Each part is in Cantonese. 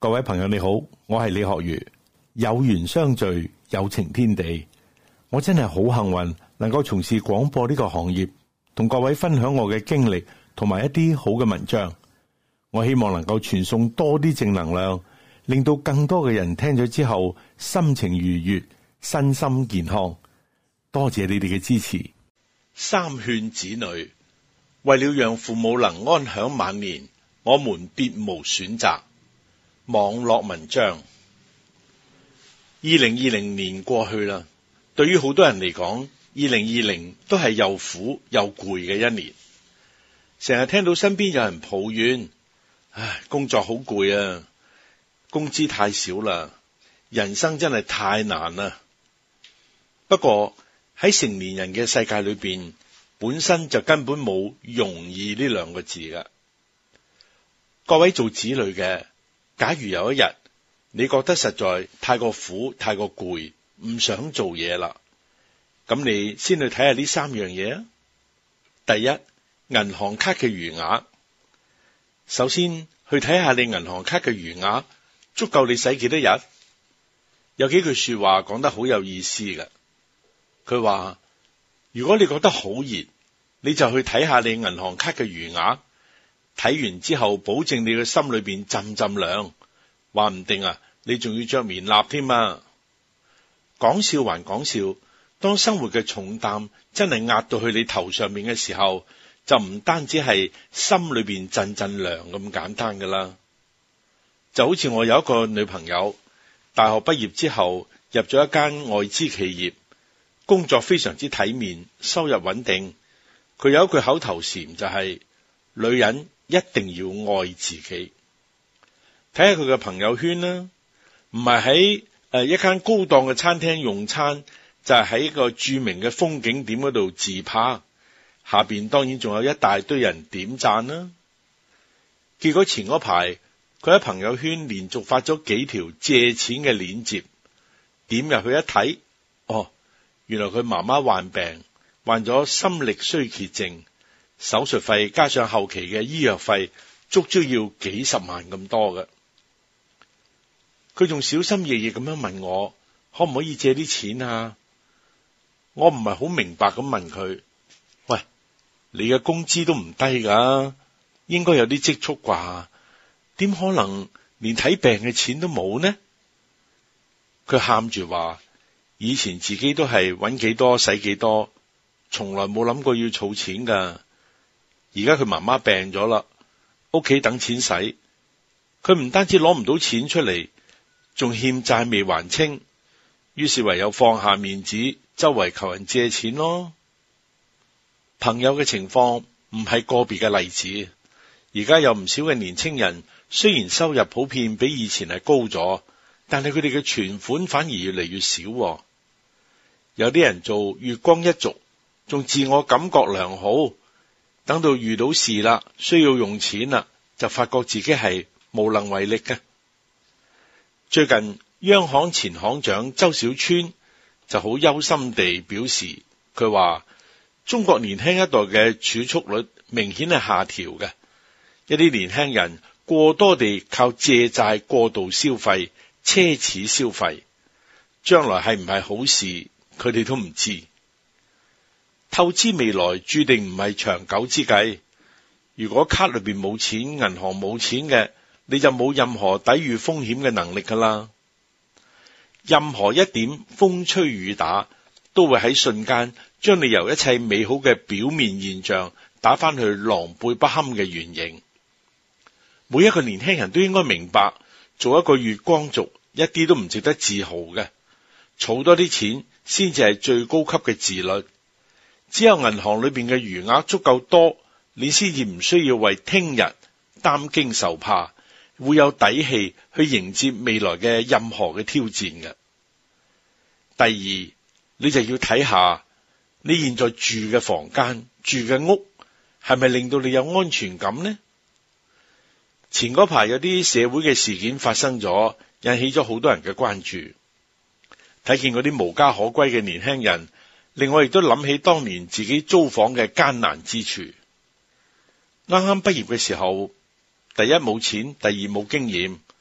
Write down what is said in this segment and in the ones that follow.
各位朋友你好，我係李學儒。有緣相聚，有情天地。我真係好幸運，能夠從事廣播呢個行業，同各位分享我嘅經歷同埋一啲好嘅文章。我希望能夠傳送多啲正能量，令到更多嘅人聽咗之後心情愉悅，身心健康。多謝你哋嘅支持。 三勸子女，為了讓父母能安享晚年，我們別無選擇。網絡文章。2020年過去啦，對於好多人嚟講，2020都係又苦又攰嘅一年。成日聽到身邊有人抱怨，工作好攰啊，工資太少啦，人生真係太難啦。不過喺成年人嘅世界裏邊，本身就根本冇容易呢兩個字噶。各位做子女嘅，假如有一日你覺得實在太過苦、太過攰，唔想做嘢啦，咁你先去睇下呢三樣嘢啊。第一，銀行卡嘅餘額。首先去睇下你銀行卡嘅餘額足夠你使幾多日。有幾句說話講得好有意思嘅。佢話，如果你覺得好熱，你就去睇下你銀行卡嘅餘額。睇完之後，保證你嘅心裏邊浸浸涼，話唔定啊，你仲要着棉衲添啊！講笑還講笑，當生活嘅重擔真係壓到去你頭上面嘅時候，就唔單止係心裏邊浸浸涼咁簡單噶啦。就好似我有一個女朋友，大學畢業之後入咗一間外資企業，工作非常之體面，收入穩定。佢有一句口頭禪就係，女人一定要愛自己。睇下佢嘅朋友圈啦，唔係喺一間高檔嘅餐廳用餐，就係喺一個著名嘅風景點嗰度自拍，下邊當然仲有一大堆人點讚啦。結果前嗰排佢喺朋友圈連續發咗幾條借錢嘅鏈接，點入去一睇，原來佢媽媽患病，患咗心力衰竭症，手術費加上後期嘅醫藥費，足足要幾十萬咁多嘅。佢仲小心翼翼咁樣問我，可唔可以借啲錢啊？我唔係好明白咁問佢，喂，你嘅工資都唔低噶，應該有啲積蓄啩？點可能連睇病嘅錢都冇呢？佢喊住話，以前自己都係搵幾多使幾多，從來冇諗過要儲錢噶。而家佢媽媽病咗啦，屋企等錢使，佢唔單止攞唔到錢出嚟，仲欠債未還清，於是唯有放下面子，周圍求人借錢咯。朋友嘅情況唔係個別嘅例子，而家有唔少嘅年青人，雖然收入普遍比以前係高咗，但係佢哋嘅存款反而越嚟越少。有啲人做月光一族，仲自我感覺良好，等到遇到事啦，需要用錢啦，就發覺自己係無能為力嘅。最近央行前行長周小川就好憂心地表示，佢話中國年輕一代嘅儲蓄率明顯係下調嘅，一啲年輕人過多地靠借債過度消費、奢侈消費，將來係唔係好事，佢哋都唔知。透支未來注定唔係長久之計。如果卡裏邊冇錢，銀行冇錢嘅，你就冇任何抵禦風險嘅能力噶啦。任何一點風吹雨打，都會喺瞬間將你由一切美好嘅表面現象打翻去狼狽不堪嘅原形。每一個年輕人都應該明白，做一個月光族一啲都唔值得自豪嘅，儲多啲錢先至係最高級嘅自律。只有銀行裏邊嘅餘額足夠多，你先至唔需要為聽日擔驚受怕，會有底氣去迎接未來嘅任何嘅挑戰嘅。第二，你就要睇下你現在住嘅房間、住嘅屋係咪令到你有安全感呢？前嗰排有啲社會嘅事件發生咗，引起咗好多人嘅關注。睇見嗰啲無家可歸嘅年輕人，令我亦都諗起當年自己租房嘅艱難之處。啱啱畢業嘅時候，第一冇錢，第二冇經驗，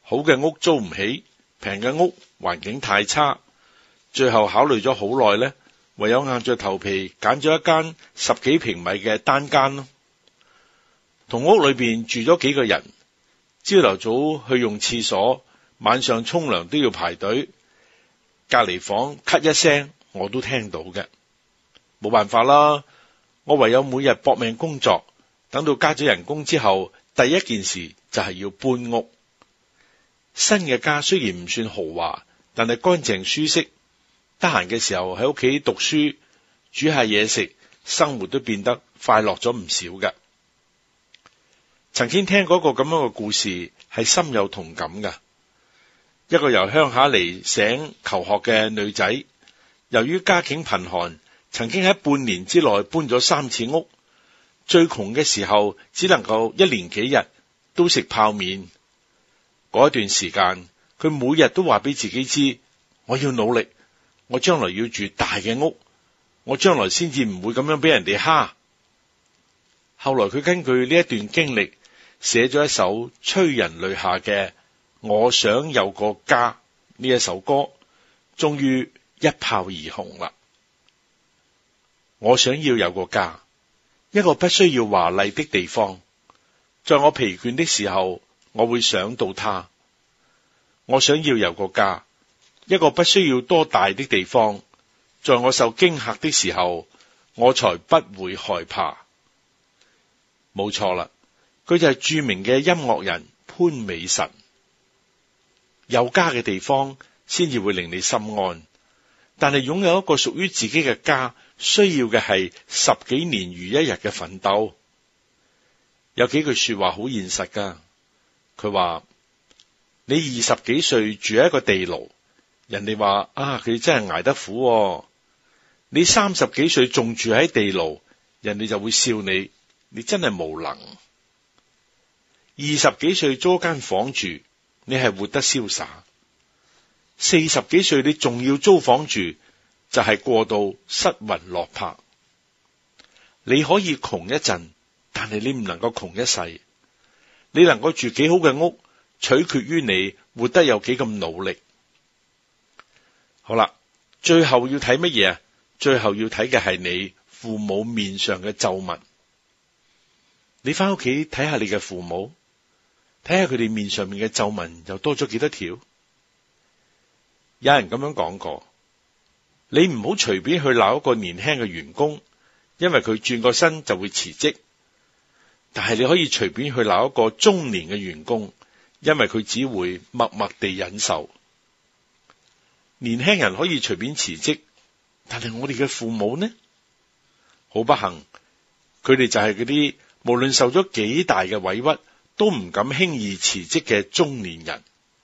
好嘅屋租唔起，平嘅屋環境太差，最後考慮咗好耐呢，唯有硬着頭皮揀咗一間10幾平米嘅單間咯。同屋裏邊住咗幾個人，朝頭早去用廁所，晚上沖涼都要排隊，隔離房咳一聲我都聽到嘅。冇辦法啦，我唯有每日搏命工作，等到加咗人工之後，第一件事就係要搬屋。新嘅家雖然唔算豪華，但係乾淨舒適，得閒嘅時候喺屋企讀書，煮下嘢食，生活都變得快樂咗唔少㗎。曾經聽過一個咁樣嘅故事，係深有同感㗎。一個由鄉下嚟省求學嘅女仔，由於家境貧寒，曾經喺半年之內搬咗3次屋。最窮嘅時候，只能夠1連幾日都食泡麵。嗰一段時間，佢每日都話俾自己知，我要努力，我將來要住大嘅屋，我將來先至唔會咁樣俾人哋蝦。後來佢根據呢一段經歷，寫咗一首催人淚下嘅《我想有個家》呢一首歌，終於一炮而紅啦。我想要有個家，一個不需要華麗的地方，在我疲倦的時候，我會想到它。我想要有個家，一個不需要多大的地方，在我受驚嚇的時候，我才不會害怕。冇錯啦，佢就係著名嘅音樂人潘美辰。有家嘅地方先至會令你心安，但係擁有一個屬於自己嘅家，需要嘅係10幾年如一日嘅奮鬥。有幾句說話好現實噶，佢話你20幾歲住喺一個地牢，人哋話啊，佢真係捱得苦喎。你30幾歲仲住喺地牢，人哋就會笑你，你真係無能。20幾歲租間房住，你係活得瀟灑。40幾歲你仲要租房住，就係過度失魂落魄。你可以窮一陣，但係你唔能夠窮一世。你能夠住幾好嘅屋，取決於你活得有幾咁努力。好啦，最後要睇乜嘢啊？最後要睇嘅係你父母面上嘅皺紋。你翻屋企睇下你嘅父母，睇下佢哋面上面嘅皺紋又多咗幾多條。有人咁樣講過，你唔好隨便去鬧一個年輕嘅員工，因為佢轉個身就會辭職。但係你可以隨便去鬧一個中年嘅員工，因為佢只會默默地忍受。年輕人可以隨便辭職，但係我哋嘅父母呢？好不幸，佢哋就係嗰啲無論受咗幾大嘅委屈，都唔敢輕易辭職嘅中年人。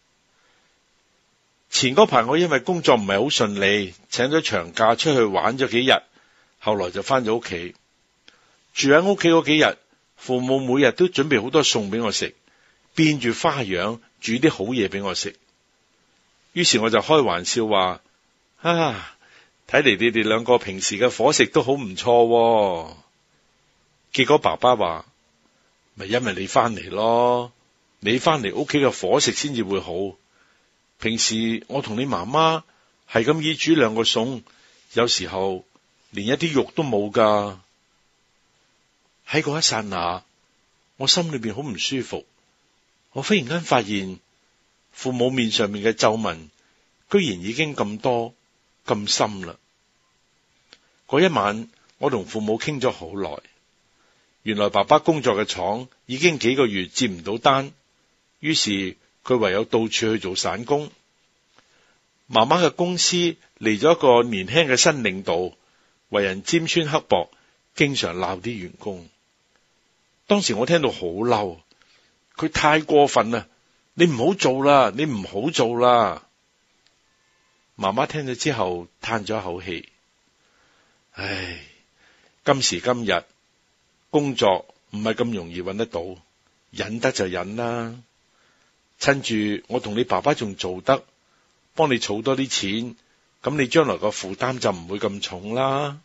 前嗰排我因為工作唔係好順利，請咗長假出去玩咗幾日，後來就翻咗屋企。住喺屋企嗰幾日，父母每日都準備好多餸俾我食，變住花樣煮啲好嘢俾我食。於是我就開玩笑話：啊，睇嚟你哋兩個平時嘅伙食都好唔錯喎。結果爸爸話：咪因為你翻嚟咯，你翻嚟屋企嘅伙食先至會好。平時我同你媽媽係咁意煮2個餸，有時候連一啲肉都冇噶。喺嗰一剎那，我心裏邊好唔舒服。我忽然間發現，父母面上面嘅皺紋，居然已經咁多咁深啦。嗰一晚，我同父母傾咗好耐。原來爸爸工作嘅廠已經幾個月接唔到單，於是佢唯有到處去做散工。媽媽嘅公司嚟咗一個年輕嘅新領導，為人尖酸刻薄，經常鬧啲員工。當時我聽到好嬲，佢太過分啦！你唔好做啦，你唔好做啦。媽媽聽咗之後嘆咗一口氣，唉，今時今日工作唔係咁容易揾得到，忍得就忍啦。趁住我同你爸爸仲做得，幫你儲多啲錢，咁你將來個負擔就唔會咁重啦。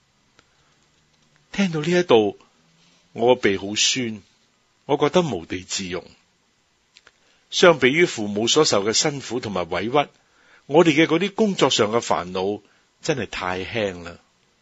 聽到呢一度，我個鼻好酸，我覺得無地自容。 相比於父母所受嘅辛苦同埋委屈，我哋嘅嗰啲工作上嘅煩惱真係太輕啦。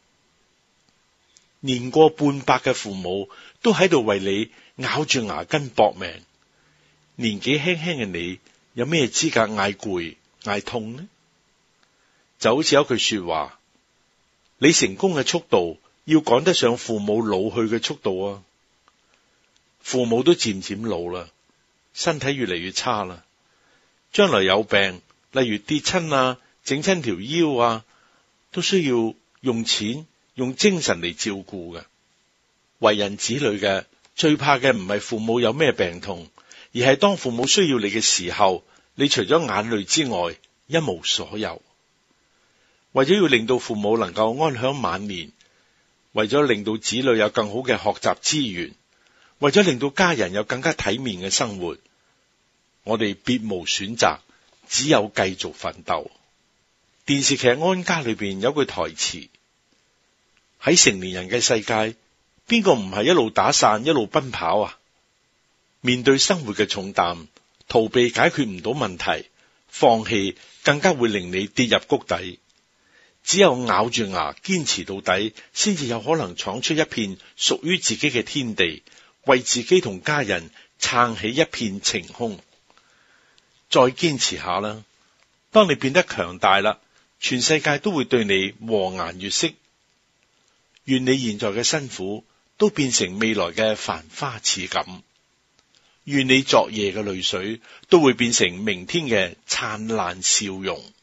年過半百嘅父母都喺度為你咬住牙根搏命，年紀輕輕嘅你有咩資格嗌攰嗌痛呢？就好似有句說話，你成功嘅速度要趕得上父母老去嘅速度啊！父母都漸漸老啦，身體越嚟越差啦，將來有病，例如跌親啊、整親條腰啊，都需要用錢、用精神嚟照顧嘅。為人子女嘅最怕嘅唔係父母有咩病痛，而係當父母需要你嘅時候，你除咗眼淚之外一無所有。為咗要令到父母能夠安享晚年，為咗令到子女有更好嘅學習資源，為咗令到家人有更加體面嘅生活，我哋別無選擇，只有繼續奮鬥。電視劇《安家》裏邊有句台詞，喺成年人嘅世界，邊個唔係一路打傘一路奔跑啊？面對生活嘅重擔，逃避解決唔到問題，放棄更加會令你跌入谷底。只有咬住牙堅持到底，先至有可能闖出一片屬於自己嘅天地，為自己同家人撐起一片晴空。再堅持下啦，當你變得強大啦，全世界都會對你和顏悅色。願你現在嘅辛苦都變成未來嘅繁花似錦，願你昨夜嘅淚水都會變成明天嘅燦爛笑容。